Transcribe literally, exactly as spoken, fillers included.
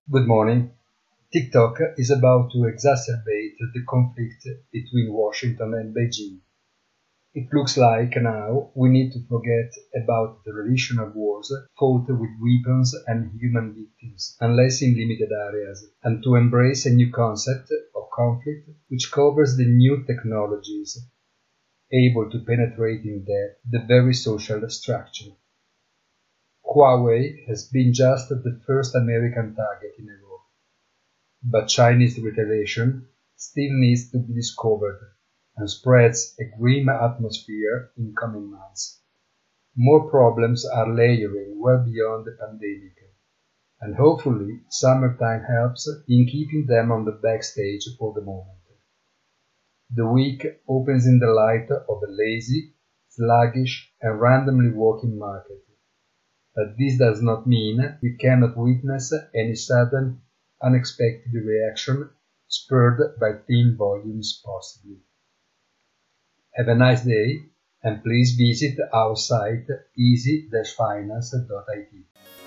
Good morning. TikTok is about to exacerbate the conflict between Washington and Beijing. It looks like now we need to forget about the traditional wars fought with weapons and human victims, unless in limited areas, and to embrace a new concept of conflict which covers the new technologies able to penetrate in depth the very social structure. Huawei has been just the first American target in a row, but Chinese retaliation still needs to be discovered and spreads a grim atmosphere in coming months. More problems are layering well beyond the pandemic, and hopefully summertime helps in keeping them on the backstage for the moment. The week opens in the light of a lazy, sluggish and randomly walking market. But this does not mean we cannot witness any sudden, unexpected reaction spurred by thin volumes possibly. Have a nice day and please visit our site easy dash finance dot I T.